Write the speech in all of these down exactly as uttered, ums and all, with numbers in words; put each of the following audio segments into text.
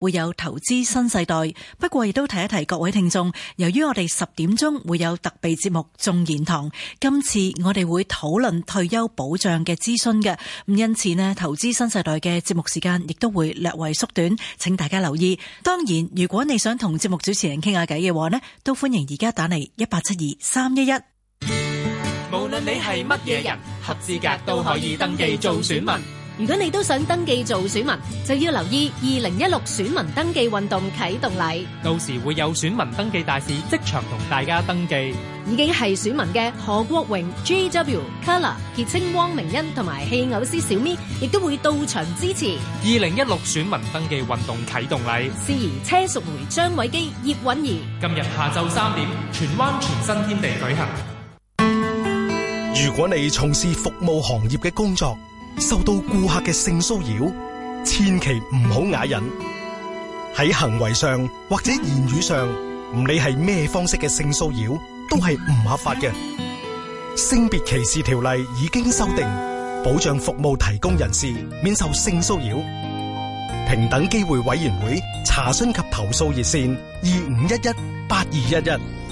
會有投資新世代。不過亦都提一提各位聽眾，由於我哋十點鐘會有特備節目眾言堂，今次我哋會討論退休保障嘅諮詢嘅，咁因此呢，投資新世代嘅節目時間亦都會略為縮短，請大家留意。當然，如果你想同節目主持人傾下偈嘅話呢，都歡迎而家打嚟一八七二三一一。 無論你係乜嘢人，合資格都可以登記做選民。 如果你都想登記做選民，就要留意二零一六選民登記運動啟動禮。 到時會有選民登記大使即場同大家登記。 已經係選民嘅何國榮、J W、Color、傑青、汪明欣同埋戲偶師小咪，亦都會到場支持。 二零一六選民登記運動啟動禮， 司儀車淑梅、張偉基、葉韻儀。 今日下晝三點，荃灣全新天地舉行。 如果你從事服務行業嘅工作，受到顧客嘅性騷擾，千祈唔好啞忍。喺行為上或者言語上，唔理係咩方式嘅性騷擾，都係唔合法嘅。性別歧視條例已經修訂，保障服務提供人士免受性騷擾。平等機會委員會查詢及投訴熱線二五一一八二一一。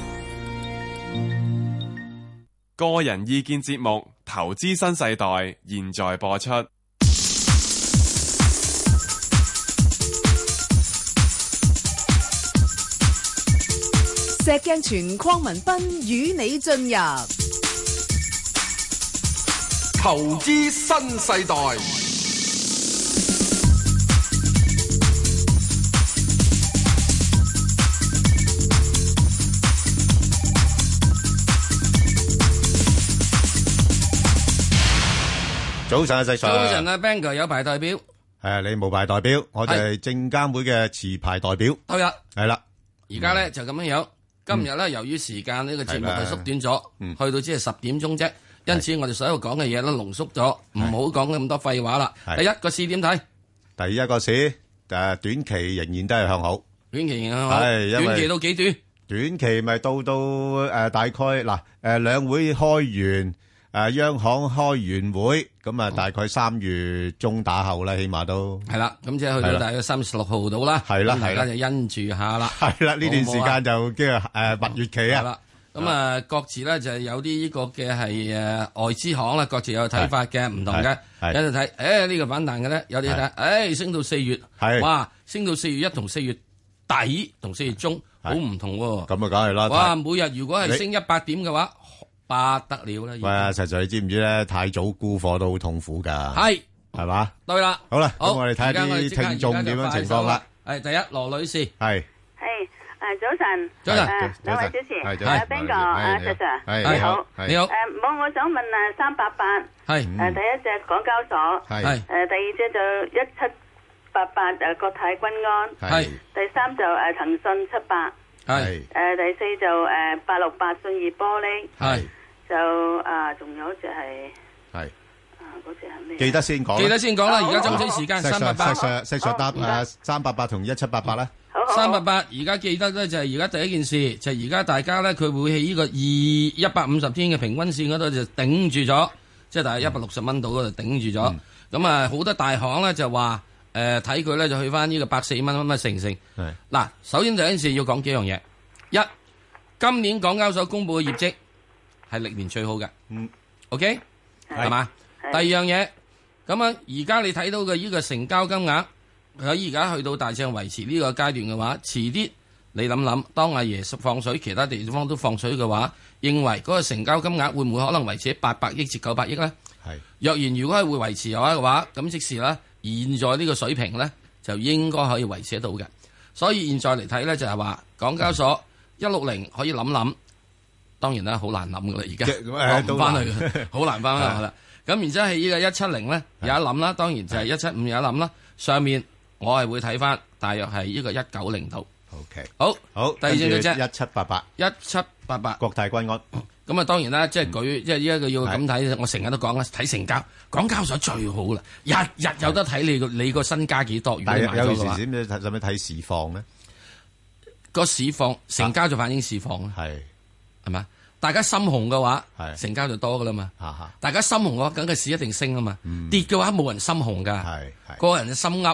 個人意見節目《投資新世代》現在播出。 石鏡泉鄺民彬與你進入《 投資新世代》。 早晨啊，石 Sir。 早晨啊 ，Bang 哥有排代表。 係你冇牌代表，我哋係證監會嘅持牌代表。 對啦， 係啦。 而家咧就咁樣樣。今日咧由於時間呢個節目係縮短咗，去到只係十點鐘啫。因此我哋所有講嘅嘢都濃縮咗，唔好講咁多廢話啦。第一個市點睇？ 第一個市誒，短期仍然都係向好。 短期仍然向好。係，短期到幾短？短期咪到到誒大概嗱誒兩會開完。誒，央行開完會，咁啊，大概三月中打後啦，起碼都係啦。咁即係去到大概三月十六號到啦。係啦，大家就因住下啦。 係啦，呢段時間就叫誒蜜月期啊。 係啦，咁啊，各自咧就有啲呢個嘅係誒外資行啦，各自有睇法嘅，唔同嘅。有人睇誒呢個反彈嘅咧，有啲睇誒升到四月，哇，升到四月一同四月底同四月中好唔同喎。咁啊，梗係啦。哇，每日如果係升一百點嘅話。不得了啦！喂啊，實在你知唔知咧？太早沽貨都好痛苦噶， 係係嘛？ 對啦， 好啦，咁我哋睇下啲聽眾點樣情況啦。 係第一，羅女士係係誒早晨， 早晨， 兩位主持， 係誒 Ben 哥，阿 Sir， 你好， 你好。誒，冇，我想問誒三八八，係誒第一隻港交所，係誒第二隻就一七八八誒國泰君安，係第三就誒騰訊七百，係誒第四就誒八六八信義玻璃，係。就啊，仲有一隻係係啊，嗰隻係咩？ 記得先講， 記得先講啦。而家爭取時間，三八八， 石石石答誒，三八八同一七八八啦。 三八八而家記得咧，就係而家第一件事，就係而家大家咧，佢會喺呢個二一百五十天嘅平均線嗰度就頂住咗，即係大概一百六十蚊度嗰度頂住咗。咁啊，好多大行咧就話誒，睇佢咧就去翻呢個百四蚊乜乜成成。嗱，首先第一件事要講幾樣嘢。一，今年港交所公布嘅業績。係歷年最好嘅，嗯 ，OK， 係嘛？第二樣嘢，咁啊，而家你睇到嘅呢個成交金額喺而家去到大致維持呢個階段嘅話，遲啲你諗諗，當阿爺放水，其他地方都放水嘅話，認為嗰個成交金額會唔會可能維持喺八百億至九百億咧？係。若然如果係會維持嘅話嘅話，咁即時咧，現在呢個水平咧就應該可以維持得到嘅。所以現在嚟睇咧，就係話港交所一六零可以諗諗。當然啦，好難諗噶啦，而家講唔翻去嘅，好難翻翻去啦。咁然之後係呢個一七零咧，有一諗啦，當然就係一七五有一諗啦。上面我係會睇翻，大約係呢個一九零度。OK， 好，好，第二隻嘅啫，一七八八，一七八八，國泰君安。咁啊，當然啦，即係舉，即係呢一個要咁睇，我成日都講啦，睇成交，港交所最好啦，日日有得睇你個你個身家幾多。如果你買咗嘅話，有時點使唔使睇市況咧？個市況成交就反映市況啦。係。係嘛？大家心紅嘅話，成交就多噶啦嘛。大家心紅嘅話，梗係市一定升啊嘛。跌嘅話冇人心紅噶，個人嘅心噏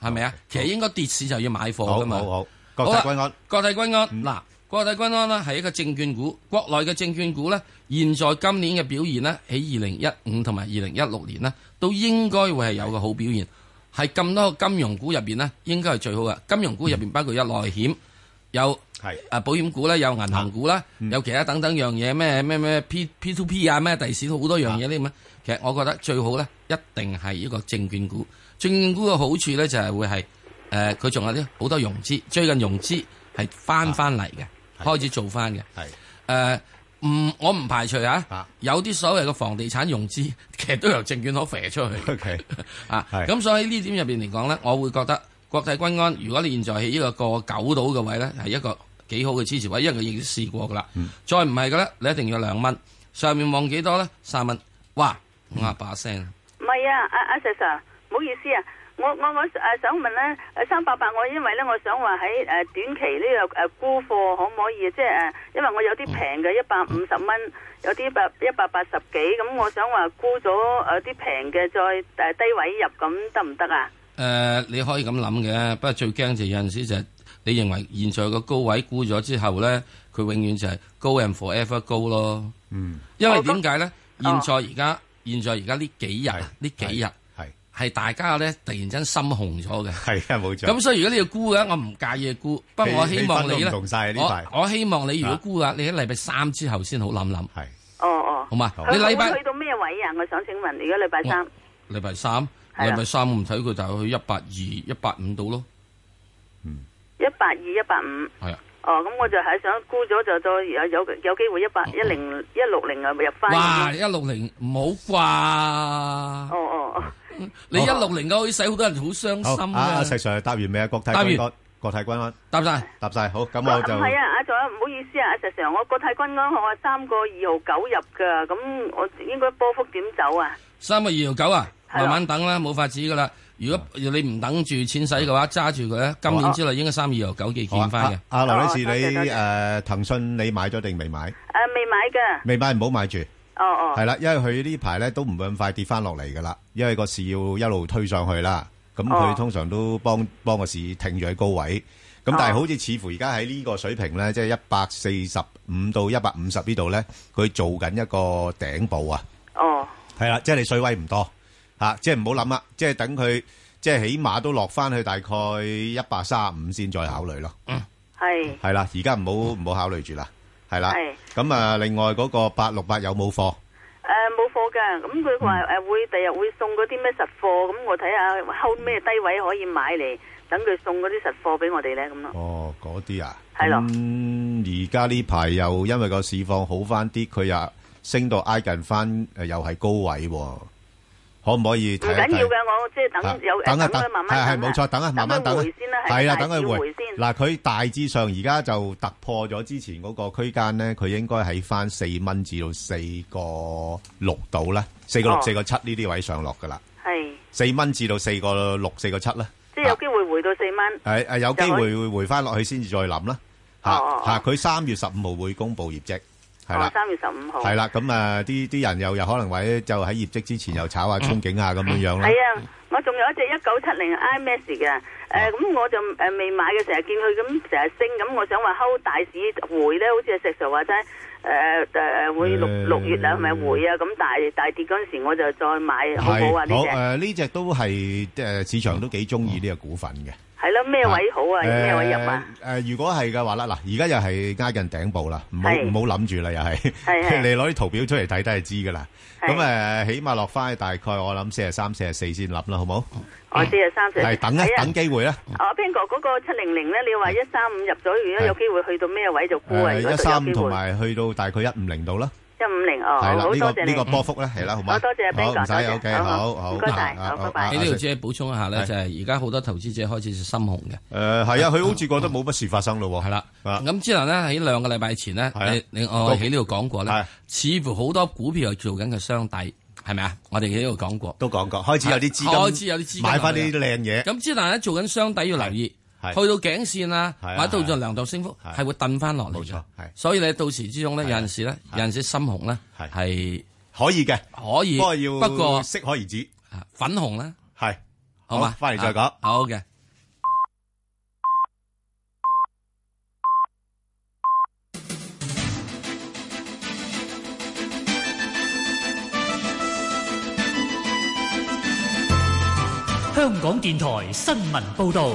係咪啊？其實應該跌市就要買貨噶嘛。 好好好，國泰君安， 國泰君安嗱，國泰君安呢係一個證券股，國內嘅證券股咧，現在今年嘅表現呢，喺二零一五同埋二零一六年呢，都應該會係有個好表現。係咁多個金融股入邊呢，應該係最好嘅。金融股入邊包括有內險，有係誒保險股啦，有銀行股啦，有其他等等樣嘢，咩咩咩 P P to P 啊，咩第時都好多樣嘢呢咁啊。其實我覺得最好咧，一定係一個證券股。證券股嘅好處咧就係會係誒，佢仲有啲好多融資，最近融資係翻翻嚟嘅，開始做翻嘅。係誒。唔，我唔排除啊，啊有啲所謂嘅房地產融資，其實都由證券行飛出去。OK， 啊，咁所以喺呢點入邊嚟講咧，我會覺得國泰君安，如果你現在喺呢個過九度嘅位咧，係一個幾好嘅支持位，因為佢已經試過噶啦。嗯、再唔係嘅咧，你一定要兩蚊，上面望幾多咧？三蚊，哇，五啊把聲。 唔係啊，阿阿 Sir， 唔好意思啊。我我我誒想問咧，誒三八八我因為咧，我想話喺誒短期呢個誒沽貨可唔可以？即係誒，因為我有啲平嘅一百五十蚊，有啲百一百八十幾，咁我想話沽咗誒啲平嘅，再誒低位入，咁得唔得啊？誒、 呃，你可以咁諗嘅，不過最驚就有陣時就係你認為現在個高位沽咗之後咧，佢永遠就係 go and forever go 咯。嗯，因為點解咧？現在而家、哦、現在而家呢幾日呢幾日。係大家咧突然間心紅咗嘅，係啊冇錯。咁所以如果你要沽嘅，我唔介意沽，不過我希望你咧，我我希望你如果沽嘅，你喺禮拜三之後先好諗諗。係，哦哦，好嘛？你禮拜去到咩位啊？我想請問，如果禮拜三， 禮拜三，禮拜三我唔睇佢就去一百二、一百五度咯。 嗯，一百二、一百五。係啊。哦，咁我就係想沽咗就再有有有機會一百一零一六零啊入翻。 哇！一六零唔好啩？哦哦哦。 你一六零嘅可以使好多人好傷心嘅。 阿石 Sir 答完未啊？國泰君安，國泰君安答晒， 答晒。好，咁我就唔係啊！阿仲有唔好意思啊！阿石 Sir，我國泰君安我話三個二號九入噶，咁我應該波幅點走啊？ 三個二號九啊，慢慢等啦，冇法子噶啦。如果你唔等住錢使嘅話，揸住佢咧，今年之內應該三二號九幾見翻嘅。 阿劉女士，你誒騰訊你買咗定未買？誒未買嘅。未買唔好買住。 哦哦， 係啦，因為佢呢排咧都唔會咁快跌翻落嚟噶啦，因為個市要一路推上去啦。咁佢通常都幫幫個市停住喺高位。咁但係好似似乎而家喺呢個水平咧，即係一百四十五到一百五十呢度咧，佢做緊一個頂部啊。哦，係啦，即係你水位唔多吓，即係唔好諗啦，即係等佢即係起碼都落翻去大概一百三十五先再考慮咯。嗯，係係啦，而家唔好唔好考慮住啦。係啦，咁啊，另外嗰個八六八有冇貨？誒， 冇貨噶，咁佢話誒會第日會送嗰啲咩實貨，咁我睇下後咩低位可以買嚟，等佢送嗰啲實貨俾我哋咧，咁咯。 哦，嗰啲啊，係咯。咁而家呢排又因為個市況好翻啲，佢又升到挨近翻誒，又係高位，可唔可以睇一睇？ 唔緊要嘅，我即係等有等一等， 慢慢係係冇錯，等啊，慢慢等。係啦，等佢回先。 嗱，佢大致上而家就突破咗之前嗰個區間咧，佢應該喺翻四蚊至到四個六度啦，四個六、四個七呢啲位上落噶啦。係四蚊至到四個六、四個七啦。 即係有機會回到四蚊。 係誒，有機會會回翻落去先至再諗啦。吓吓，佢三月十五號會公布業績。係啦， 三月十五號。 係啦，咁啊，啲啲人又又可能或者就喺業績之前又炒下憧憬下咁樣樣啦。 係啊，我仲有一隻一九七零 I M A X 嘅，誒，咁我就誒未買嘅，成日見佢咁成日升，咁我想話睺大市回咧，好似阿石 Sir 話齋，誒誒會六六月啊，係咪回啊？咁大大跌嗰陣時，我就再買，好唔好啊？呢隻好誒， 呢隻都係誒市場都幾中意呢個股份嘅。 係咯，咩位好啊？咩位入啊？ 誒，如果係嘅話啦，嗱，而家又係挨近頂部啦，唔好唔好諗住啦，又係，你攞啲圖表出嚟睇都係知噶啦。咁誒，起碼落翻去大概我諗四十三、四十四先諗啦，好冇？ 哦，四十三、四十四。係等一等機會啦。 哦，邊個嗰個七零零咧？你話一三五入咗，如果有機會去到咩位就沽啊？ 一三五同埋去到大概一五零度啦。 一五零哦，好多謝你呢個波幅咧，係啦，好嘛？ 好多謝阿 Ben 哥， 唔使 OK，好好， 唔該晒，好，拜拜。 喺呢度只係補充一下咧，就係而家好多投資者開始心紅嘅。 誒，係啊，佢好似覺得冇乜事發生咯。係啦， 咁之後咧喺兩個禮拜前咧，你你我喺呢度講過咧，似乎好多股票係做緊嘅雙底，係咪啊？我哋喺呢度講過， 都講過，開始有啲資金， 開始有啲資金買翻啲靚嘢。 咁之但係做緊雙底要留意。去到頸線啊，或者到咗量度升幅，係會掟翻落嚟。冇錯，係。所以你到時之中咧，有陣時咧，有陣時深紅咧係可以嘅， 可以。 不過要不過適可而止。 粉紅咧係， 好嘛？翻嚟再講。 好嘅。 香港電台新聞報道。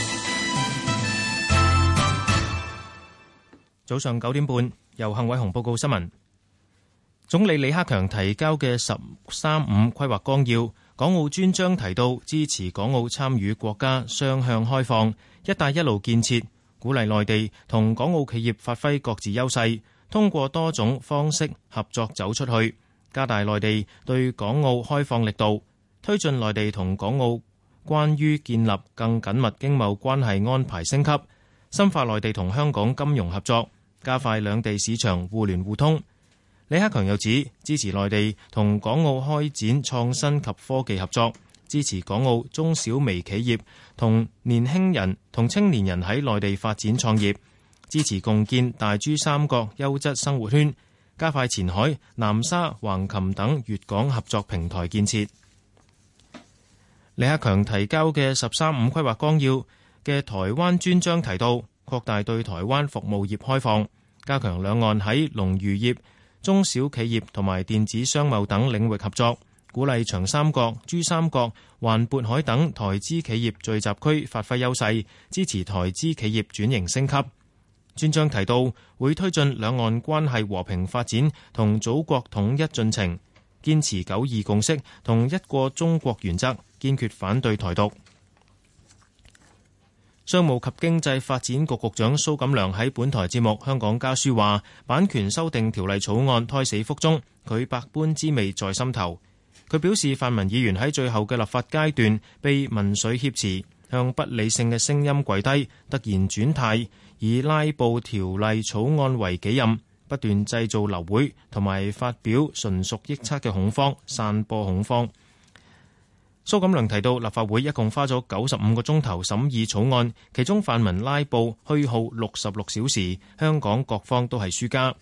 早上九點半，由幸偉雄報告新聞。總理李克強提交嘅十三五規劃綱要，港澳專章提到支持港澳參與國家雙向開放、一帶一路建設，鼓勵內地同港澳企業發揮各自優勢，通過多種方式合作走出去，加大內地對港澳開放力度，推進內地同港澳關於建立更緊密經貿關係安排升級，深化內地同香港金融合作，加快兩地市場互聯互通。李克強又指，支持內地同港澳開展創新及科技合作，支持港澳中小微企業同年輕人同青年人喺內地發展創業，支持共建大珠三角優質生活圈，加快前海、南沙、橫琴等粵港合作平台建設。李克強提交嘅十三五規劃綱要嘅台灣專章提到，擴大對台灣服務業開放，加強兩岸喺農漁業、中小企業同埋電子商貿等領域合作，鼓勵長三角、珠三角、環渤海等台資企業聚集區發揮優勢，支持台資企業轉型升級。專章提到，會推進兩岸關係和平發展同祖國統一進程，堅持九二共識同一個中國原則，堅決反對台獨。商務及經濟發展局局長蘇錦樑喺本台節目《香港家書》話，版權修訂條例草案胎死腹中，佢百般滋味在心頭。佢表示，泛民議員喺最後嘅立法階段被民粹挾持，向不理性嘅聲音跪低，突然轉態，以拉布條例草案為己任，不斷製造流會同埋發表純屬臆測嘅恐慌，散播恐慌。蘇錦樑提到，立法會一共花咗九十五個鐘頭審議草案，其中泛民拉布虛耗六十六小時，香港各方都係輸家。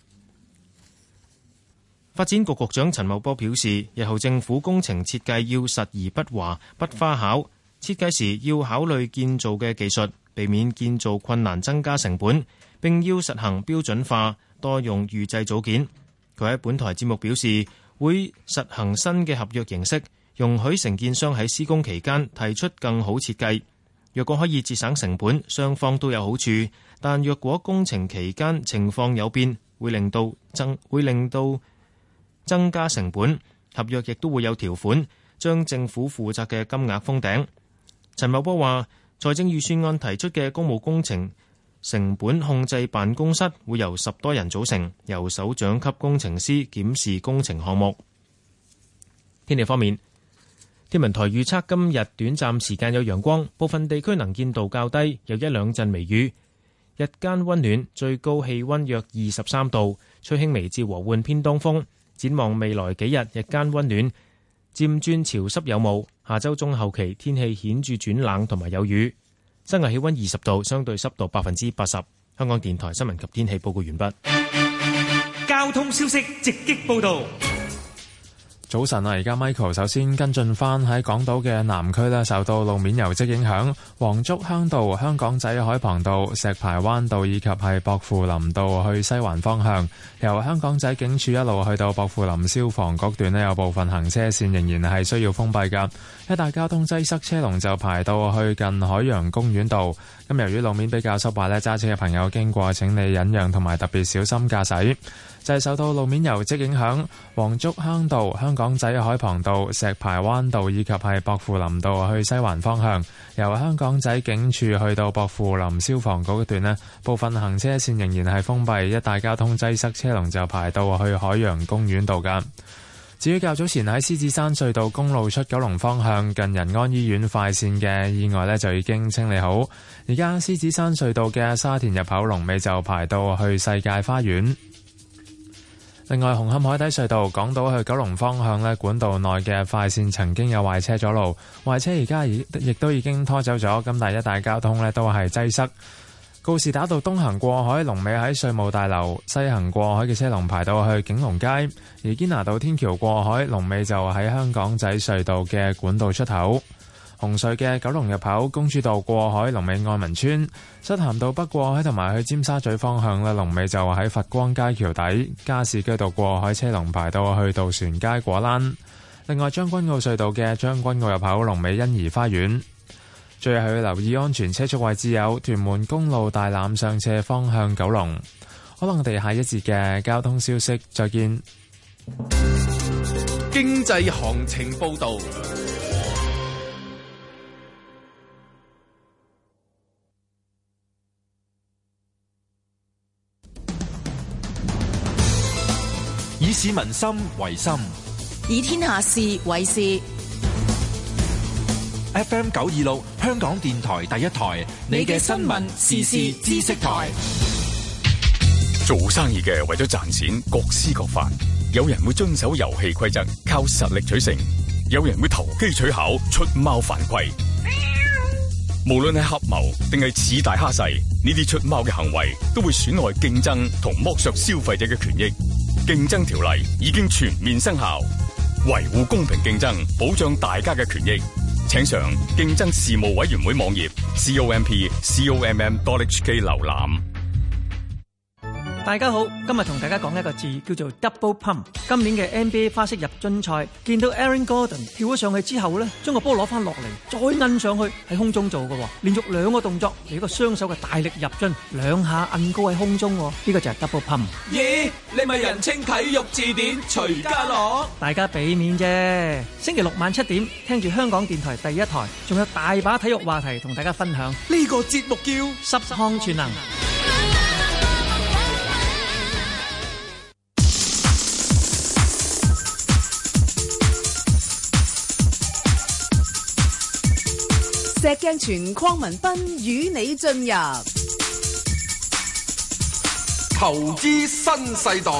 發展局局長陳茂波表示，日後政府工程設計要實而不華、不花巧，設計時要考慮建造嘅技術，避免建造困難增加成本，並要實行標準化，多用預製組件。佢喺本台節目表示，會實行新嘅合約形式，容許承建商喺施工期間提出更好設計。若果可以節省成本，雙方都有好處。但若果工程期間情況有變，會令到增會令到增加成本。合約亦都會有條款，將政府負責嘅金額封頂。陳茂波話，財政預算案提出嘅公務工程成本控制辦公室會由十多人組成，由首長級工程師檢視工程項目。天氣方面，天文台預測今日短暫時間有陽光，部分地區能見度較低，有一兩陣微雨。日間溫暖，最高氣溫約二十三度，吹輕微至和緩偏東風。展望未來幾日，日間溫暖，漸轉潮濕有霧。下周中後期天氣顯著轉冷同埋有雨。室外氣溫二十度，相對濕度百分之八十。香港電台新聞及天氣報告完畢。 交通消息直擊報道。 早晨啊，而家 Michael 首先跟進翻喺港島嘅南區咧，受到路面油漬影響，黃竹坑道、香港仔海傍道、石排灣道以及係薄扶林道去西環方向，由香港仔警署一路去到薄扶林消防局段咧，有部分行車線仍然係需要封閉噶，一帶交通擠塞，車龍就排到去近海洋公園道。咁由於路面比較濕滑咧，揸車嘅朋友經過請你忍讓同埋特別小心駕駛。就係受到路面油漬影響，黃竹坑道、香港仔海傍道、石排灣道以及係薄扶林道去西環方向，由香港仔警署去到薄扶林消防局一段呢，部分行車線仍然係封閉，一帶交通擠塞，車龍就排到去海洋公園道㗎。至於較早前喺獅子山隧道公路出九龍方向近仁安醫院快線嘅意外呢，就已經清理好，而家獅子山隧道嘅沙田入口龍尾就排到去世界花園。另外，紅磡海底隧道港島去九龍方向咧，管道內嘅快線曾經有壞車阻路，壞車而家亦亦都已經拖走咗，咁但係一帶交通咧都係擠塞。告士打道東行過海龍尾喺稅務大樓，西行過海嘅車龍排到去景隆街，而堅拿道天橋過海龍尾就喺香港仔隧道嘅管道出口。紅隧嘅九龍入口公主道過海龍尾愛民村，漆咸道北過海同埋去尖沙咀方向咧，龍尾就喺佛光街橋底，加士居道過海車龍排到去渡船街果欄。 另外，將軍澳隧道嘅將軍澳入口龍尾欣怡花園。最後要留意安全車速位置有屯門公路大欖上斜方向九龍。可能我哋下一節嘅交通消息再見。 經濟行情報道。 以市民心為心， 以天下事為事。 F M 九二六香港電台第一台，你嘅新聞時事知識台。 做生意嘅為咗賺錢，各施各法。有人會遵守遊戲規則，靠實力取勝；有人會投機取巧，出貓犯規。無論係合謀定係恃大蝦細，呢啲出貓嘅行為都會損害競爭同剝削消費者嘅權益。競爭條例已經全面生效，維護公平競爭，保障大家嘅權益。請上競爭事務委員會網頁 comp comm dot h k 瀏覽。 大家好，今日同大家講一個字叫做 double pump。今年嘅 N B A 花式入樽賽，見到 Aaron Gordon 跳咗上去之後呢，將個波攞翻落嚟，再摁上去喺空中做嘅，連續兩個動作嚟一個雙手嘅大力入樽，兩下摁高喺空中，呢、這個就係 double pump。 咦，你咪人稱體育字典徐家樂？ 大家俾面啫。星期六晚七點，聽住香港電台第一台，仲有大把體育話題同大家分享。 呢個節目叫十項全能。 石鏡泉鄺民彬與你進入投資新世代。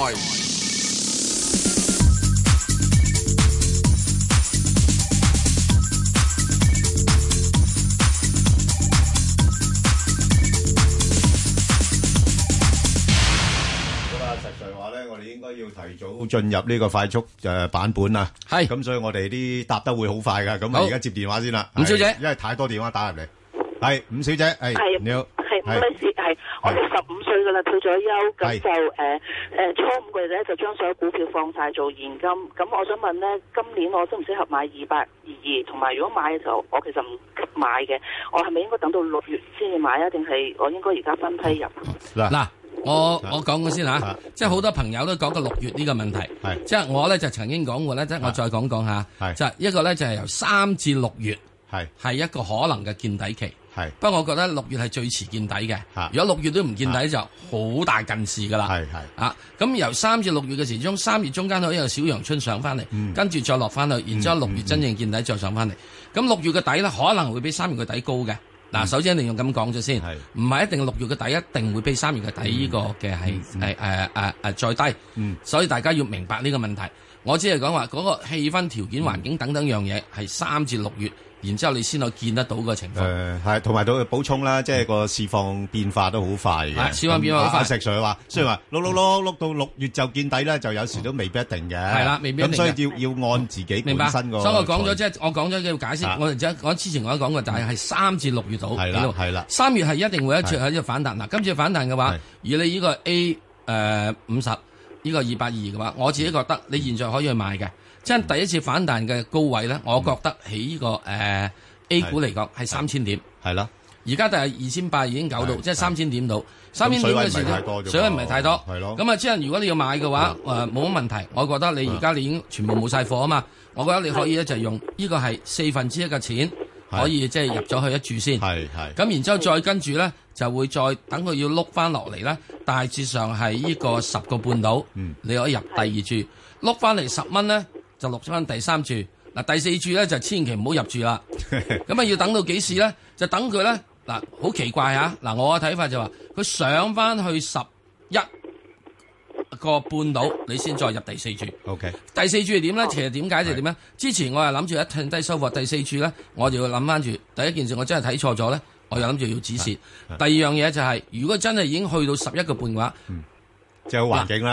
要提早進入呢個快速誒版本啊，係咁，所以我哋啲答得會好快噶。咁啊，而家接電話先啦，伍小姐，因為太多電話打入嚟。係伍小姐，係你好， 係唔好意思，係我哋十五歲噶啦，退咗休，咁就誒誒初五嘅咧就將所有股票放晒做現金。咁我想問咧，今年我適唔適合買二八二二？同埋如果買嘅時候，我其實唔急買嘅，我係咪應該等到六月先至買啊？定係我應該而家分批入？ 嗱嗱。我我講過先吓，啊、即係好多朋友都講過六月呢個問題，即係我咧就曾經講過咧，即係我再講講下，就係一個咧就係由三至六月係係一個可能嘅見底期，係不過我覺得六月係最遲見底嘅，如果六月都唔見底就好大近視噶啦，係係啊，咁由三至六月嘅時鐘，三月中間可以有小陽春上翻嚟，嗯、跟住再落翻去，然之後六月真正見底再上翻嚟，咁六、嗯、月嘅底咧可能會比三月嘅底高嘅。嗱，首先一定要咁講咗先，唔係一定六月嘅底一定會比三月嘅底呢個嘅係係誒誒誒再低，嗯、所以大家要明白呢個問題。我只係講話嗰個氣氛條件環境等等樣嘢係三至六月。然之後你先可以見得到個情況。 誒係，同埋到補充啦，即係個市況變化都好快嘅。 係市況變化好快。 石 Sir 話，雖然話碌碌碌碌到六月就見底咧，就有時都未必一定嘅。係啦，未必一定嘅。 咁所以要要按自己本身個。 所以我講咗即係我講咗要解釋。我哋即係我之前我都講過，但係係三至六月度。 係啦，係啦。 三月係一定會一次喺度反彈。嗱，今次反彈嘅話，如果你呢個 A 誒五十呢個二百二嘅話，我自己覺得你現在可以去買嘅。即係第一次反彈嘅高位咧，我覺得喺呢個誒。A 股嚟講係三千點，係啦。而家就係二千八已經搞到，即係三千點到。三千點嘅時候，水位唔係太多，係咯。咁啊，即係如果你要買嘅話，誒冇乜問題。我覺得你而家你已經全部冇晒貨啊嘛。我覺得你可以咧就用呢個係四分之一嘅錢，可以即係入咗去一注先。係係。咁然之後再跟住咧，就會再等佢要碌翻落嚟咧，大致上係呢個十個半到，你可以入第二注，碌翻嚟十蚊咧就碌翻第三注。嗱，第四注咧就千祈唔好入住啦，咁啊要等到幾時咧？就等佢咧嗱，好奇怪嚇嗱，我嘅睇法就話佢上翻去十一個半到，你先再入第四注。OK，第四注係點咧？其實點解就點咧？之前我係諗住一趁低收貨，第四注咧我就要諗翻住第一件事，我真係睇錯咗咧，我又諗住要止蝕。第二樣嘢就係、是，如果真係已經去到十一個半嘅話， 嗯，即係好環境啦。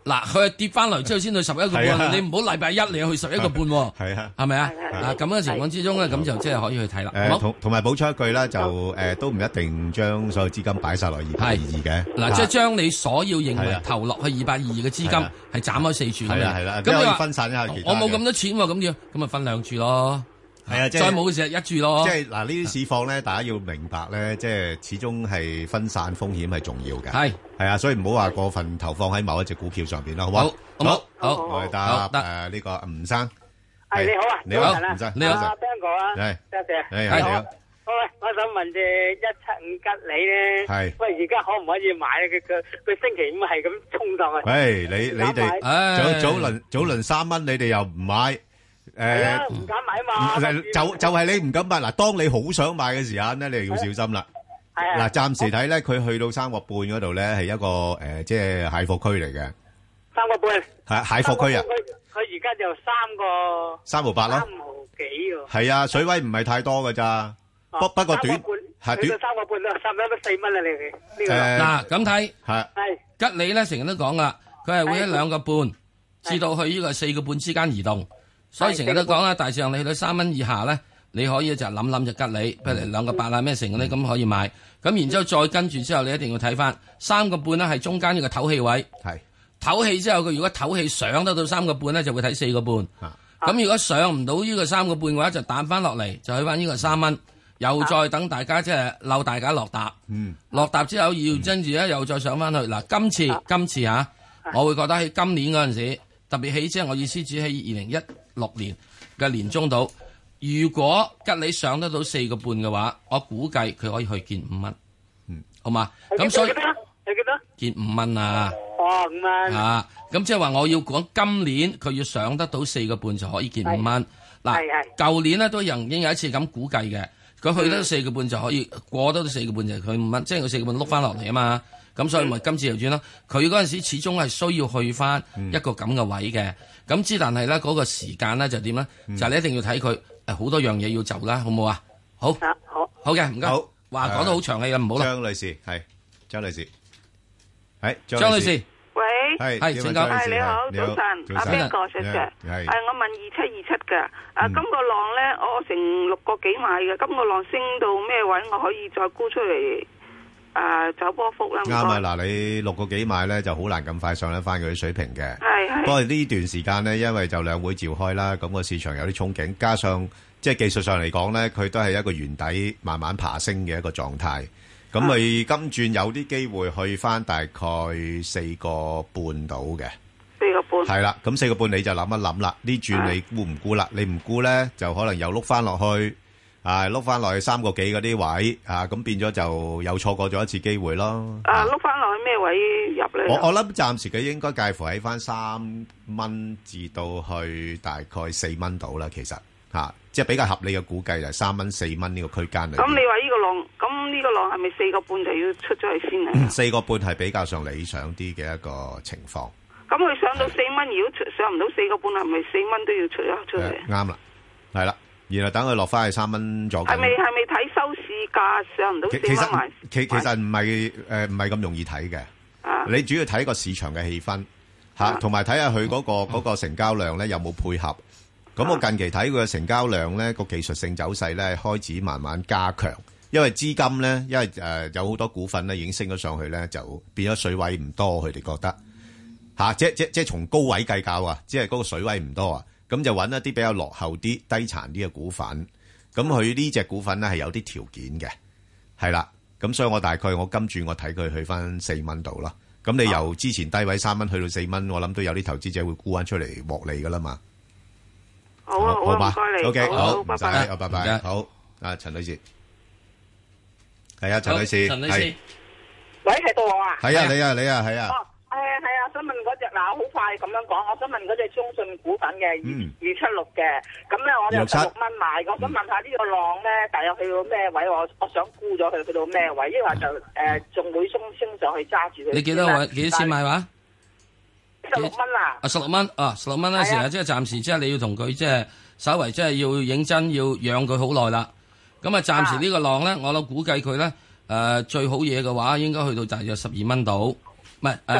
嗱，佢跌翻嚟之後先去十一個半，你唔好禮拜一你去十一個半喎。係啊，係咪啊？嗱咁嘅情況之中咧，咁就即係可以去睇啦。 誒，同同埋補充一句啦，就誒都唔一定將所有資金擺晒落二百二二嘅。 嗱，即係將你所要認為投落去二百二二嘅資金係斬開四注咁樣。 係啦， 咁你話分散一下其他。 我冇咁多錢喎，咁要咁咪分兩注咯。 係啊，即係再冇嘅時候一注咯。 即係嗱，呢啲市況咧，大家要明白咧，即係始終係分散風險係重要嘅。係係啊，所以唔好話過分投放喺某一隻股票上邊啦，好唔好？好，好，我哋答誒呢個吳生。 係你好啊， 你好，吳生，你好， 阿 Ben 哥啊， 係， 多謝。 係，你好。 喂，我想問隻一七五吉利咧，係，喂，而家可唔可以買咧？佢佢佢星期五係咁衝上去。 喂，你你哋早早輪早輪三蚊，你哋又唔買？ 誒，唔敢買嘛。 就就係你唔敢買嗱，當你好想買嘅時間咧，你就要小心啦。係嗱，暫時睇咧，佢去到三個半嗰度咧，係一個誒，即係蟹貨區嚟嘅。 三個半。 係蟹貨區啊！ 佢而家就三個。 三毫八咯。 三毫幾喎。 係啊，水位唔係太多㗎咋。不不過短係短。三個半啦，三蚊都四蚊啦，你哋呢個。嗱咁睇係。 係吉利咧，成日都講啦，佢係會喺兩個半至到去呢個四個半之間移動。所以成日都講啦，大致上你去到三蚊以下咧，你可以就諗諗就吉利，譬如兩個八啊咩成嗰啲咁可以買。咁然之後再跟住之後，你一定要睇翻三個半咧，係中間呢個唞氣位。係唞氣之後，佢如果唞氣上得到三個半咧，就會睇四個半。咁如果上唔到呢個三個半嘅話，就彈翻落嚟，就去翻呢個三蚊。又再等大家即係溜大家落搭。嗯。落搭之後要跟住咧，又再上翻去。嗱，今次今次嚇，我會覺得喺今年嗰陣時，特別起即係我意思指喺二零一六年嘅年中度，如果吉利上得到四個半嘅話，我估計佢可以去見五蚊，嗯，好嘛？咁所以你記得見五蚊啊？ 哦，五蚊啊！咁即係話我要講今年佢要上得到四個半就可以見五蚊。嗱，舊年呢都曾經有一次咁估計嘅，佢去得四個半就可以過得到四個半就係佢五蚊，即係佢四個半碌翻落嚟啊嘛。咁所以咪今次又轉咯。佢嗰陣時始終係需要去翻一個咁嘅位嘅。咁之但係咧嗰個時間咧就點咧？就你一定要睇佢誒好多樣嘢要做啦，好唔好啊？好， 好， 好嘅，唔該。好，話講到好長氣啦，唔好啦。 張女士係張女士，係張女士。 喂， 係係，請講。 係你好，早晨，阿邊個石 Sir？係我問二七二七嘅。啊，今個浪咧，我成六個幾買嘅，今個浪升到咩位，我可以再沽出嚟？誒，走波幅啦。啱啊！嗱，你六個幾買咧，就好難咁快上得翻佢啲水平嘅。 係係。 不過呢段時間咧，因為就兩會召開啦，咁個市場有啲憧憬，加上即係技術上嚟講咧，佢都係一個圓底慢慢爬升嘅一個狀態。咁佢今轉有啲機會去翻大概四個半到嘅。 四個半。係啦，咁四個半你就諗一諗啦。呢轉你沽唔沽啦？你唔沽咧，就可能又碌翻落去。啊，碌翻落去三個幾嗰啲位，啊，咁變咗就又錯過咗一次機會咯。 啊，碌翻落去咩位入咧？ 我我諗暫時佢應該介乎喺翻三蚊至到去大概四蚊度啦，其實吓、啊，即係比較合理嘅估計就係三蚊四蚊呢個區間嚟。 咁你話呢個浪，咁呢個浪係咪四個半就要出咗去先啊？ 四個半係比較上理想啲嘅一個情況。 咁佢上到四蚊，如果出上唔到四個半，係咪四蚊都要出一出嚟？ 啱啦，係啦。然後等佢落翻去三蚊左右。係咪係咪睇收市價上唔到四蚊買？ 其其實唔係誒唔係咁容易睇嘅。啊、你主要睇個市場嘅氣氛嚇，同埋睇下佢嗰個嗰、嗰個成交量咧有冇配合。咁、啊、我近期睇佢嘅成交量咧個技術性走勢咧開始慢慢加強，因為資金咧因為誒、呃、有好多股份咧已經升咗上去咧，就變咗水位唔多，佢哋覺得嚇、啊，即即即從高位計較啊，即係嗰個水位唔多啊。咁就揾一啲比較落後啲、低殘啲嘅股份，咁佢呢隻股份咧係有啲條件嘅，係啦。咁所以我大概我今轉我睇佢去翻四蚊度啦。咁你由之前低位三蚊去到四蚊，我諗都有啲投資者會沽翻出嚟獲利噶啦嘛。 好啊，好啊，唔該你。 O K，好， 拜拜，拜拜。好，啊，陳女士，係啊，陳女士， 陳女士， 喂，係到我啊？ 係啊，你啊，你啊，係啊。 係啊係啊，想問嗰隻嗱，好快咁樣講，我想問嗰隻中信股份嘅二二七六嘅，咁咧我就十六蚊買，我想問下呢個浪咧，大約去到咩位？我我想沽咗佢，去到咩位？因為就誒仲會升升上去揸住佢。 你幾多位？幾多錢買話？ 十六蚊啊！ 啊，十六蚊啊，十六蚊嗰時啊，即係暫時即係你要同佢即係稍為即係要認真要養佢好耐啦。咁啊，暫時呢個浪咧，我諗估計佢咧誒最好嘢嘅話，應該去到大約十二蚊度。唔係誒，十二蚊啊！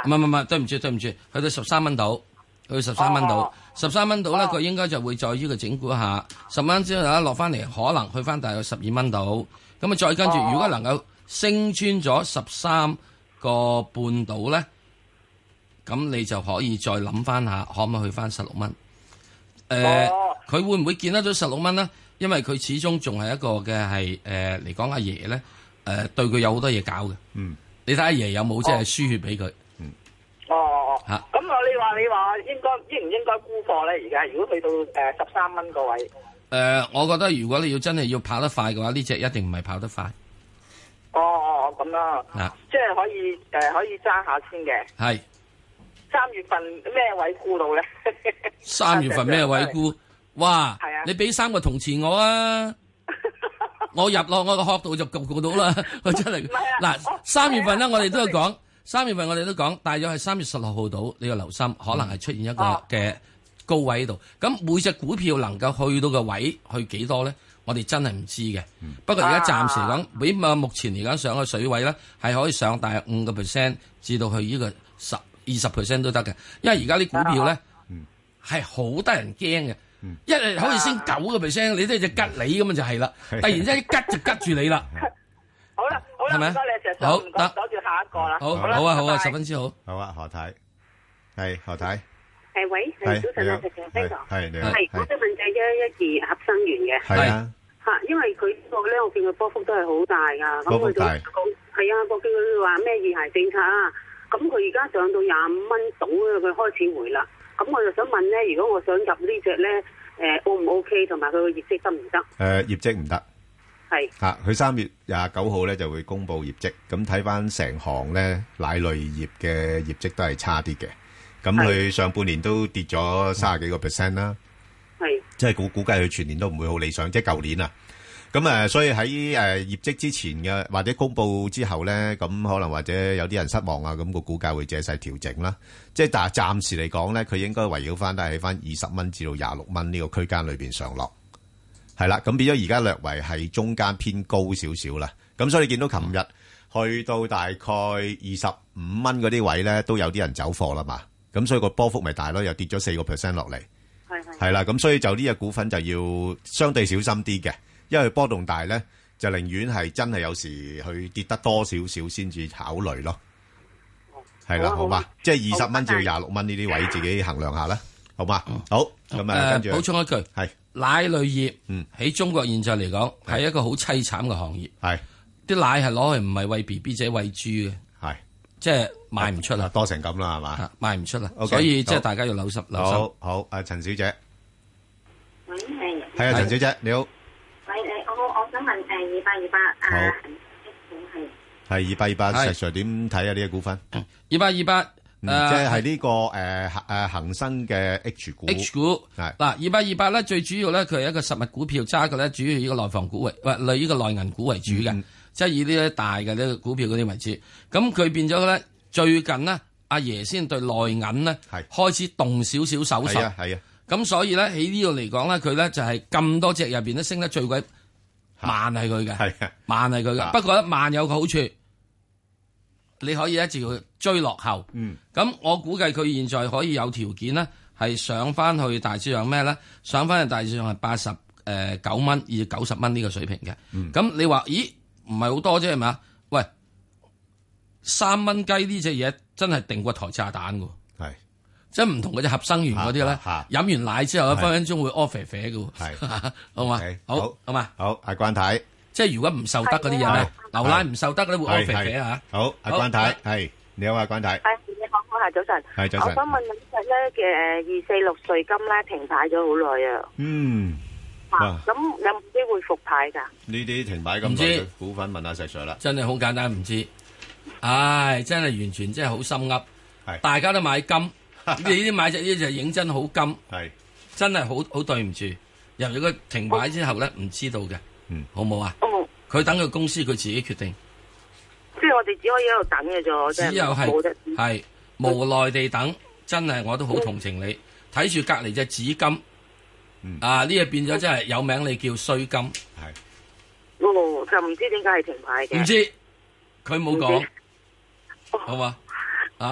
啊？ 唔係唔係，對唔住對唔住，去到十三蚊度，去到十三蚊度，十三蚊度咧，佢應該就會再呢個整固一下，十蚊之後咧落翻嚟，可能去翻大約十二蚊度，咁啊再跟住，如果能夠升穿咗十三個半度咧，咁你就可以再諗翻下，可唔可以去翻十六蚊？誒、呃，佢、哦、會唔會見得到十六蚊咧？因為佢始終仲係一個嘅係誒嚟講，阿爺咧誒對佢有好多嘢搞嘅。嗯，你睇阿爺有冇即係輸血俾佢？嗯， 哦哦哦，嚇、啊。咁我你話你話應該應唔應該沽貨咧？而家如果去到誒十三蚊個位？誒、 呃，我覺得如果你要真係要跑得快嘅話，呢隻一定唔係跑得快。 哦哦，咁啦。啊，即係可以誒、呃、可以揸下先嘅。係。三月份咩位沽到咧？ 三月份咩位沽？哇！係啊，你俾三個銅錢我啊！我入落我個殼度就焗焗到啦，我真係。嗱，三月份咧，我哋都有講，三月份我哋都講，大約係三月十六號到，你要留心，可能係出現一個嘅高位喺度。咁每隻股票能夠去到個位去幾多咧？我哋真係唔知嘅。不過而家暫時嚟講，比目前嚟講上個水位咧，係可以上大約五個 percent 至到去呢個十二十 percent 都得嘅。因為而家啲股票咧係好得人驚嘅。一日可以升九個 percent， 你都係隻吉你咁啊就係啦，突然之間吉就吉住你啦。 好啦，好啦，唔該你石 Sir，好，得，攞住下一個啦。 好，好啊，好啊，十分之好。 好啊，何太，係何太。 誒喂，係早晨啊，石 Sir，邊個？ 係你好。 係，我想問就一一二合生元嘅。 係啊。 嚇，因為佢呢個咧，我見佢波幅都係好大㗎。 波幅大。 係啊，我見佢話咩二孩政策啊，咁佢而家上到廿五蚊到啊，佢開始回啦。咁我就想問咧，如果我想入呢隻咧，誒 O 唔 O K，同埋佢個業績得唔得？誒、 呃、業績唔得， 係嚇佢三月廿九號咧就會公布業績，咁睇翻成行咧奶類業嘅業績都係差啲嘅，咁佢上半年都跌咗三十幾個 percent 啦，係即係估估計佢全年都唔會好理想，即係舊年啊。咁誒，所以喺誒業績之前嘅或者公佈之後咧，咁可能或者有啲人失望啊，咁個股價會借勢調整啦。即係但係暫時嚟講咧，佢應該圍繞翻都係喺翻二十蚊至到廿六蚊呢個區間裏邊上落，係啦。咁變咗而家略為係中間偏高少少啦。咁所以你見到琴日去到大概二十五蚊嗰啲位咧，都有啲人走貨啦嘛。咁所以個波幅咪大咯，又跌咗四個 percent 落嚟，係係係啦。咁所以就呢隻股份就要相對小心啲嘅。因為波動大咧，就寧願係真係有時去跌得多少少先至考慮咯。係啦，好嘛？即係二十蚊至到廿六蚊呢啲位，自己衡量下啦，好嘛？好，咁啊，跟住補充一句，係奶類業，嗯，喺中國現在嚟講係一個好凄慘嘅行業。係啲奶係攞去唔係餵 B B 仔餵豬嘅，係即係賣唔出啦， 多成咁啦，係嘛？ 賣唔出啦，所以即係大家要留心留心。 好好，阿陳小姐， 喂，係係啊，陳小姐，你好。 喂，誒，我我想問誒，二八二八啊，係係二八二八，石 Sir 點睇啊？呢個股份二八二八， 即係係呢個誒誒恒生嘅 H 股。 H 股係嗱，二八二八咧，最主要咧，佢係一個實物股票揸嘅咧，主要以個內房股為，喂，類呢個內銀股為主嘅，即係以呢啲大嘅呢個股票嗰啲為主。咁佢變咗咧，最近呢，阿爺先對內銀呢係開始動少少手術。係啊，係啊。咁所以咧喺呢度嚟講咧，佢咧就係咁多隻入邊都升得最鬼慢係佢嘅，係慢係佢嘅。不過咧慢有個好處，你可以一直要追落後。嗯，咁我估計佢現在可以有條件咧，係上翻去大致上咩咧？上翻去大致上係八十誒九蚊至九十蚊呢個水平嘅。咁、嗯、你話咦唔係好多啫係咪？喂，三蚊雞呢隻嘢真係定過台炸彈㗎。即係唔同嗰隻合生元嗰啲咧，飲完奶之後咧，分分鐘會屙肥肥嘅喎。係，好嘛？好，好嘛？ 好，阿關太， 即係如果唔受得嗰啲人咧，牛奶唔受得咧，會屙肥肥啊！ 好，阿關太，係你好，阿關太。 係你好，我係早晨。 係早晨。 我想問呢隻咧嘅二四六瑞金咧停牌咗好耐啊。 嗯。 咁有冇機會復牌㗎？ 呢啲停牌咁耐嘅股份，問下石 Sir 啦。 真係好簡單，唔知。唉，真係完全真係好心噏。係。大家都買金。你呢啲買隻呢就認真好金，係真係好好對唔住。由於佢停牌之後咧，唔知道嘅，嗯，好冇啊？哦，佢等佢公司佢自己決定。 即係我哋只可以喺度等嘅啫， 只有係係無奈地等，真係我都好同情你。睇住隔籬隻紫金，嗯、啊呢個變咗真係有名，你叫衰金，係。 哦，就唔知點解係停牌嘅。 唔知，佢冇講，好嘛？啊， 好好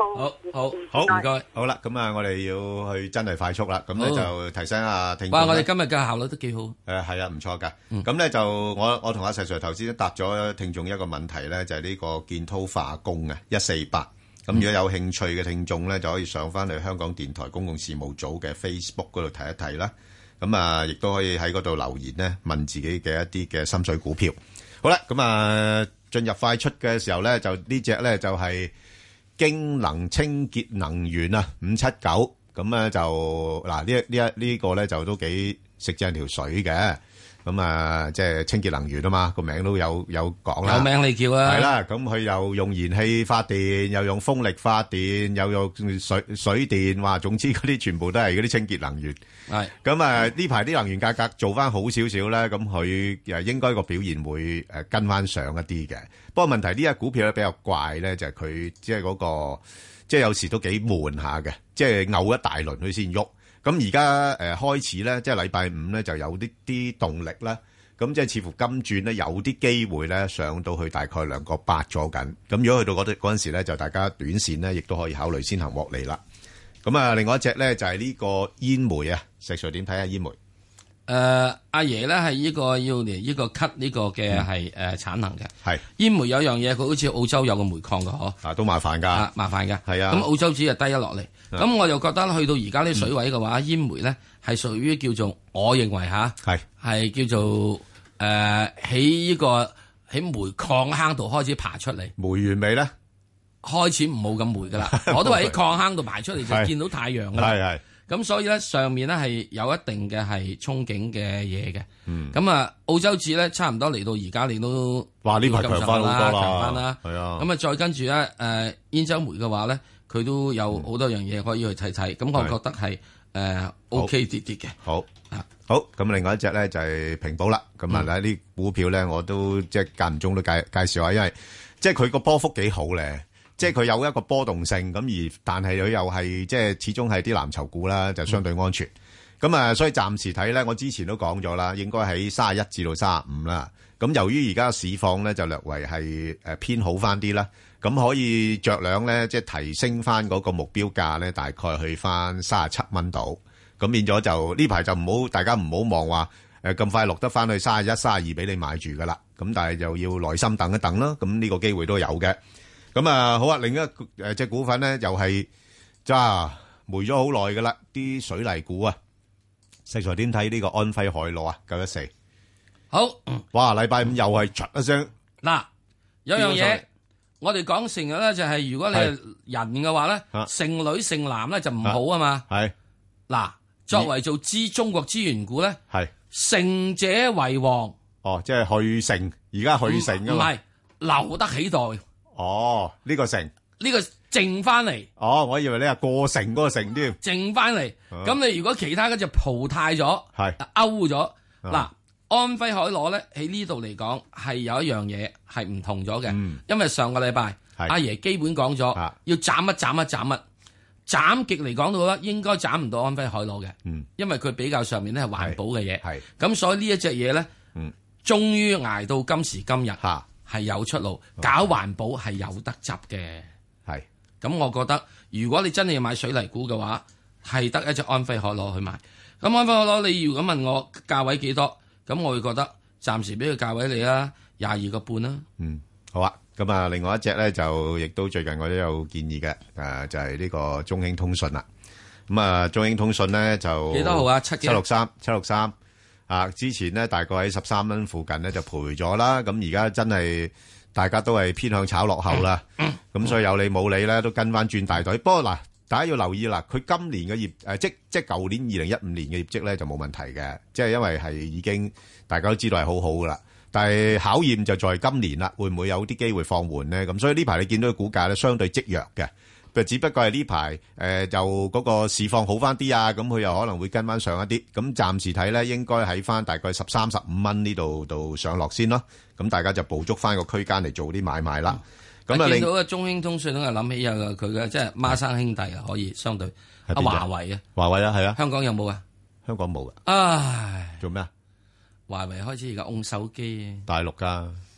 好好好唔該， 好啦，咁啊，我哋要去真係快速啦，咁咧就提醒阿聽眾。 哇，我哋今日嘅效率都幾好。 誒係啊，唔錯噶。咁咧就我我同阿石 Sir 頭先都答咗聽眾一個問題咧，就係呢個建滔化工啊，一四八。咁如果有興趣嘅聽眾咧，就可以上翻去香港電台公共事務組嘅 Facebook 嗰度睇一睇啦。咁啊，亦都可以喺嗰度留言咧，問自己嘅一啲嘅心水股票。好啦，咁啊進入快出嘅時候咧，就呢隻咧就係京能清潔能源啊，五七九。咁咧就嗱呢一呢一呢個咧就都幾食正條水嘅。咁啊，即係清潔能源啊嘛，個名都有有講啦。 有名你叫啊。 係啦，咁佢又用燃氣發電，又用風力發電，又用水水電，話總之嗰啲全部都係嗰啲清潔能源。 係。 咁啊，呢排啲能源價格做翻好少少咧，咁佢誒應該個表現會誒跟翻上一啲嘅。不過問題呢隻股票咧比較怪咧，就係佢即係嗰個即係有時都幾悶下嘅，即係嘔一大輪佢先喐。咁而家誒開始咧，即係禮拜五咧就有啲啲動力啦。咁即係似乎今轉咧有啲機會咧上到去大概兩個八咗緊。咁如果去到嗰啲嗰陣時咧，就大家短線咧亦都可以考慮先行獲利啦。咁啊，另外一隻咧就係呢個煙煤啊，石 Sir 點睇下煙煤？ 誒阿爺咧係呢個要嚟呢個 cut 呢個嘅係誒產能嘅。 係煙煤有樣嘢，佢好似澳洲有個煤礦嘅嗬。 啊，都麻煩㗎。 啊，麻煩嘅。 係啊。 咁澳洲紙就低咗落嚟。咁我就覺得去到而家呢水位嘅話，煙煤咧係屬於叫做我認為嚇係係叫做誒喺呢個喺煤礦坑度開始爬出嚟。 煤完未咧？ 開始唔冇咁煤㗎啦。我都話喺礦坑度爬出嚟就見到太陽㗎啦。 係係。 咁所以咧上面咧係有一定嘅係憧憬嘅嘢嘅。 嗯。 咁啊澳洲紙咧差唔多嚟到而家你都話呢排強翻好多啦， 強翻啦。 係啊。 咁啊再跟住咧誒兗州煤嘅話咧。佢都有好多樣嘢可以去睇睇，咁、嗯、我覺得係誒、呃、OK 啲啲嘅。 好啊，好咁，另外一隻咧就係平保啦。咁啊，呢啲股票咧我都即係間唔中都介介紹下，因為即係佢個波幅幾好咧，即係佢有一個波動性，咁而但係佢又係即係始終係啲藍籌股啦，就相對安全。咁啊、嗯，所以暫時睇咧，我之前都講咗啦，應該喺三十一至到三十五啦。咁由於而家市況咧就略為係誒偏好翻啲啦。咁可以着量咧，即係提升翻嗰個目標價咧，大概去翻三十七蚊度。咁變咗就呢排就唔好，大家唔好望話誒咁快落得翻去三十一、三十二俾你買住噶啦。咁但係就要耐心等一等啦。咁呢個機會都有嘅。咁啊好啊，另一誒隻股份咧又係揸霉咗好耐噶啦，啲水泥股啊，石 Sir點睇呢個安徽海螺啊？九一四好， 哇！禮拜五又係唰一聲嗱，有樣嘢。我哋講成日咧就係如果你係人嘅話咧，剩女剩男咧就唔好啊嘛。 係嗱，作為做資中國資源股咧， 係成者為王。 哦，即係去剩，而家去剩啊嘛。 唔係留得起代。 哦，呢個剩， 呢個剩翻嚟。 哦，我以為你係過剩嗰個剩添。 剩翻嚟，咁你如果其他嗰隻淘汰咗， 係勾咗嗱。安徽海螺咧喺呢度嚟講係有一樣嘢係唔同咗嘅，嗯、因為上個禮拜阿爺基本講咗要斬一斬一斬一，斬極嚟講到咧應該斬唔到安徽海螺嘅，嗯、因為佢比較上面咧係環保嘅嘢，咁所以呢一隻嘢咧，嗯、終於捱到今時今日係有出路，嗯、搞環保係有得執嘅，係咁我覺得如果你真係要買水泥股嘅話，係得一隻安徽海螺去買，咁安徽海螺你如果問我價位幾多？咁我會覺得暫時俾個價位你啦，廿二個半啦。 嗯，好啊。咁啊，另外一隻咧就亦都最近我都有建議嘅，誒就係呢個中興通訊啦。咁啊，中興通訊咧就幾多號啊？七七六三七六三啊！之前咧大概喺十三蚊附近咧就賠咗啦。咁而家真係大家都係偏向炒落後啦。咁、嗯、所以有理冇理咧都跟翻轉大隊。不過嗱，大家要留意啦，佢今年嘅業誒，即即舊年二零一五年嘅業績咧就冇問題嘅，即係因為係已經大家都知道係好好噶啦。但係考驗就在今年啦，會唔會有啲機會放緩咧？咁所以呢排你見到嘅股價咧相對積弱嘅，佢只不過係呢排誒就嗰個市況好翻啲啊，咁佢又可能會跟翻上一啲。咁暫時睇咧，應該喺翻大概十三十五蚊呢度度上落先咯。咁大家就捕捉翻個區間嚟做啲買賣啦。咁啊， 見到嘅中興通訊都係諗起有佢嘅，即係孖生兄弟啊，可以相對阿華為啊， 華為啊，係啊， 香港有冇啊？ 香港冇噶。 唉， 做咩啊？ 華為開始而家用手機啊， 大陸噶。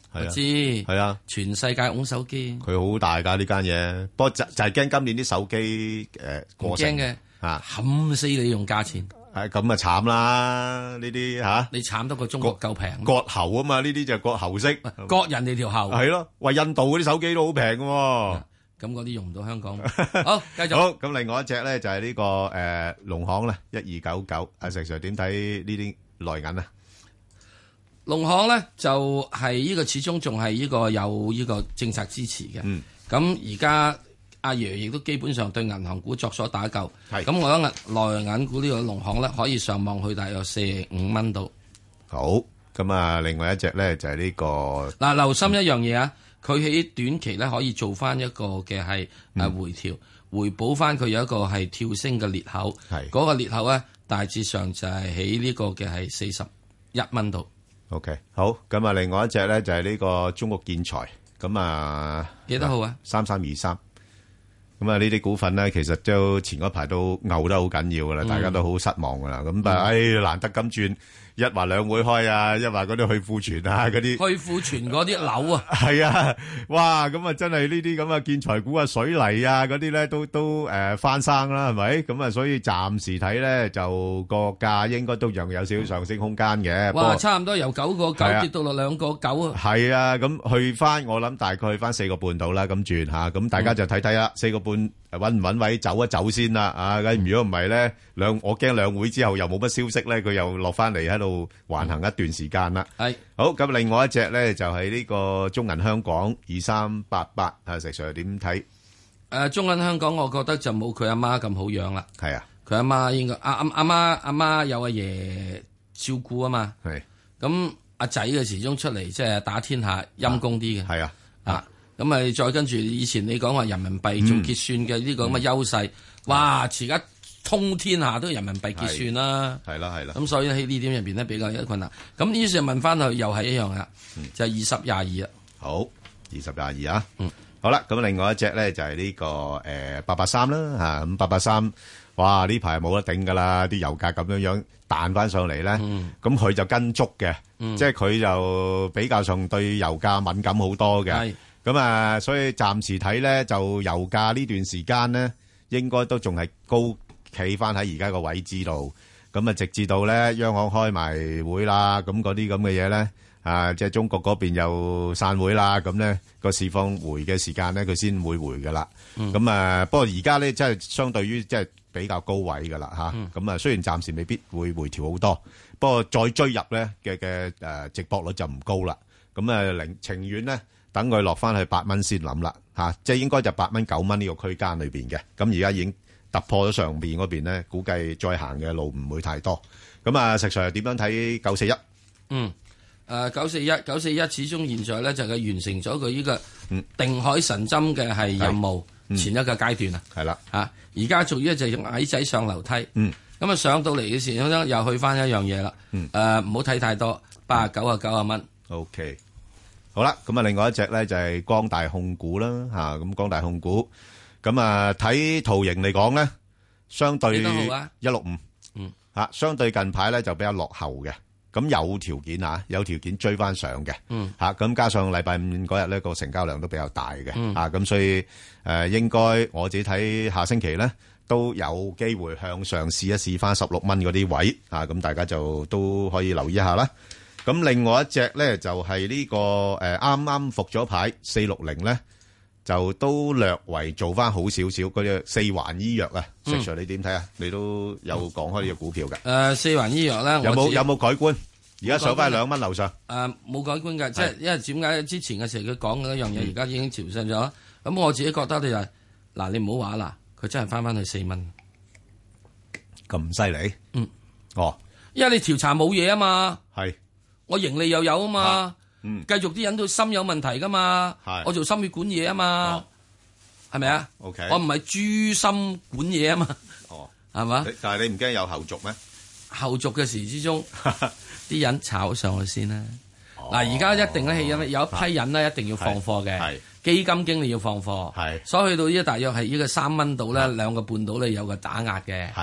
係啊， 知係啊， 全世界擁手機， 佢好大㗎呢間嘢，不過就就係驚今年啲手機誒過剩嘅嚇， 冚死你用價錢， 係咁啊慘啦呢啲嚇， 你慘得過中國夠平， 割喉啊嘛，呢啲就割喉式， 割人哋條喉， 係咯，喂印度嗰啲手機都好平嘅喎。 咁嗰啲用唔到香港。好，繼續。 好，咁另外一隻咧就係呢個誒農行咧，一二九九。阿石 Sir 點睇呢啲內銀啊？ 農行咧就係呢個始終仲係呢個有呢個政策支持嘅。 嗯。 咁而家阿爺亦都基本上對銀行股作所打救。 係。 咁我覺得內銀股呢個農行咧可以上望去大約四五蚊度。 好。咁啊，另外一隻咧就係呢個嗱，留心一樣嘢啊！佢喺短期咧可以做翻一個嘅係誒回調，嗯、回補翻佢有一個係跳升嘅裂口。係嗰個裂口咧，大致上就係喺呢個嘅係四十一蚊度。 OK，好。咁啊，另外一隻咧就係呢個中國建材。咁啊， 幾多號啊？ 三三二三。咁啊，呢啲股份咧，其實都前嗰排都牛得好緊要噶啦，嗯、大家都好失望噶啦。咁但係，唉、嗯哎，難得咁轉。一話兩會開啊，一話嗰啲去庫存啊，嗰啲去庫存嗰啲樓啊， 係啊，哇，咁啊真係呢啲咁嘅建材股啊、水泥啊嗰啲咧都都誒翻生啦，係咪？咁啊，所以暫時睇咧就個價應該都仲有少少上升空間嘅。 哇，差唔多由九個九跌到落兩個九啊！ 係啊，咁去翻我諗大概去翻四個半度啦，咁轉吓，咁大家就睇睇啦，四個半穩唔穩位走一走先啦，啊，咁如果唔係咧兩，我驚兩會之後又冇乜消息咧，佢又落翻嚟喺度。橫行一段時間啦， 係好咁。另外一隻咧就係呢個中銀香港二三八八，啊石 Sir 點睇？ 誒，中銀香港，我覺得就冇佢阿媽咁好養啦。 係啊， 佢阿媽應該阿阿阿媽阿媽有阿爺照顧啊嘛。係咁阿仔嘅始終出嚟即係打天下陰公啲嘅。係啊啊咁咪再跟住以前你講話人民幣做結算嘅呢個咁嘅優勢，哇！而家通天下都人民幣結算啦， 係啦係啦， 咁所以喺呢點入邊咧比較有困難。咁於是問翻佢又係一樣噶，嗯、就係二十廿二啦。 好，二十廿二啊。嗯，好啦，咁另外一隻咧就係呢、這個誒八八三啦嚇，咁八八三，哇呢排冇得頂噶啦，啲油價咁樣樣彈翻上嚟咧，咁佢、嗯、就跟足嘅，嗯、即係佢就比較上對油價敏感好多嘅。咁啊是，所以暫時睇咧就油價呢段時間咧應該都仲係高。企翻喺而家個位置度，咁啊直至到咧央行開埋會啦，咁嗰啲咁嘅嘢咧，啊即係中國嗰邊又散會啦，咁咧個市況回嘅時間咧，佢先會回噶啦。咁、嗯、啊，不過而家咧即係相對於即係比較高位噶啦嚇，咁、嗯、啊雖然暫時未必會回調好多，不過再追入咧嘅嘅誒值博率就唔高啦。咁啊，寧情願咧等佢落翻去八蚊先諗啦嚇，即係應該就八蚊九蚊呢個區間裏邊嘅。咁而家已經突破咗上邊嗰邊咧，估計再行嘅路唔會太多。咁啊，石 Sir 點樣睇九四一？ 嗯，誒九四一九四一始終現在咧就係完成咗佢呢個定海神針嘅係任務前一個階段啊。 係啦， 嚇而家做呢就用矮仔上樓梯。嗯，咁啊上到嚟嘅時候又去翻一樣嘢啦。嗯，誒唔好睇太多，八啊九啊九啊蚊。 OK，好啦，咁啊另外一隻咧就係光大控股啦嚇，咁光大控股。咁啊，睇圖形嚟講咧，相對一六五，嗯，吓相對近排咧就比較落後嘅，咁有條件啊，有條件追翻上嘅，嗯，吓咁加上禮拜五嗰日咧個成交量都比較大嘅，嗯，啊咁所以誒應該我自己睇下星期咧都有機會向上試一試翻十六蚊嗰啲位，啊咁大家就都可以留意一下啦。咁另外一隻咧就係呢個誒啱啱復咗牌四六零咧。就都略為做翻好少少，嗰隻四環醫藥啊，石 Sir 你點睇啊？你都有講開呢個股票嘅。 誒，四環醫藥咧， 有冇有冇改觀？而家上翻兩蚊樓上。 誒，冇改觀嘅，即係因為點解之前嘅時候佢講嘅一樣嘢，而家已經調升咗。咁我自己覺得你就嗱，你唔好話啦，佢真係翻翻去四蚊， 咁犀利。嗯，哦， 因為你調查冇嘢啊嘛。 係，我盈利又有啊嘛。嗯，繼續啲人都心有問題噶嘛，我做心血管嘢啊嘛，係咪啊 ？OK， 我唔係豬心管嘢啊嘛，哦，係嘛？ 但係你唔驚有後續咩？ 後續嘅時之中，啲人炒上去先啦。嗱，而家一定咧係有有一批人咧一定要放貨嘅，基金經理要放貨，係，所以去到呢大約係呢個三蚊度咧，兩個半度咧有個打壓嘅，係。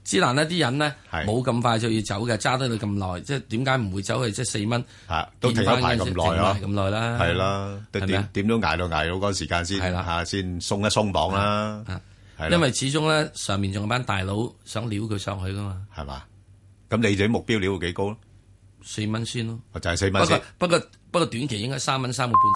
之難呢啲人呢，冇咁快就要走嘅，揸得你咁耐，即係點解唔會走去即係四蚊？ 都停咗排咁耐啊， 咁耐啦， 係啦，點點都捱到捱到嗰個時間先係啦，嚇先鬆一鬆綁啦。 因為始終咧上面仲有班大佬想撩佢上去噶嘛， 係嘛？咁你哋目標撩到幾高咯？ 四蚊先咯， 就係四蚊先。 不過不過短期應該三蚊三個半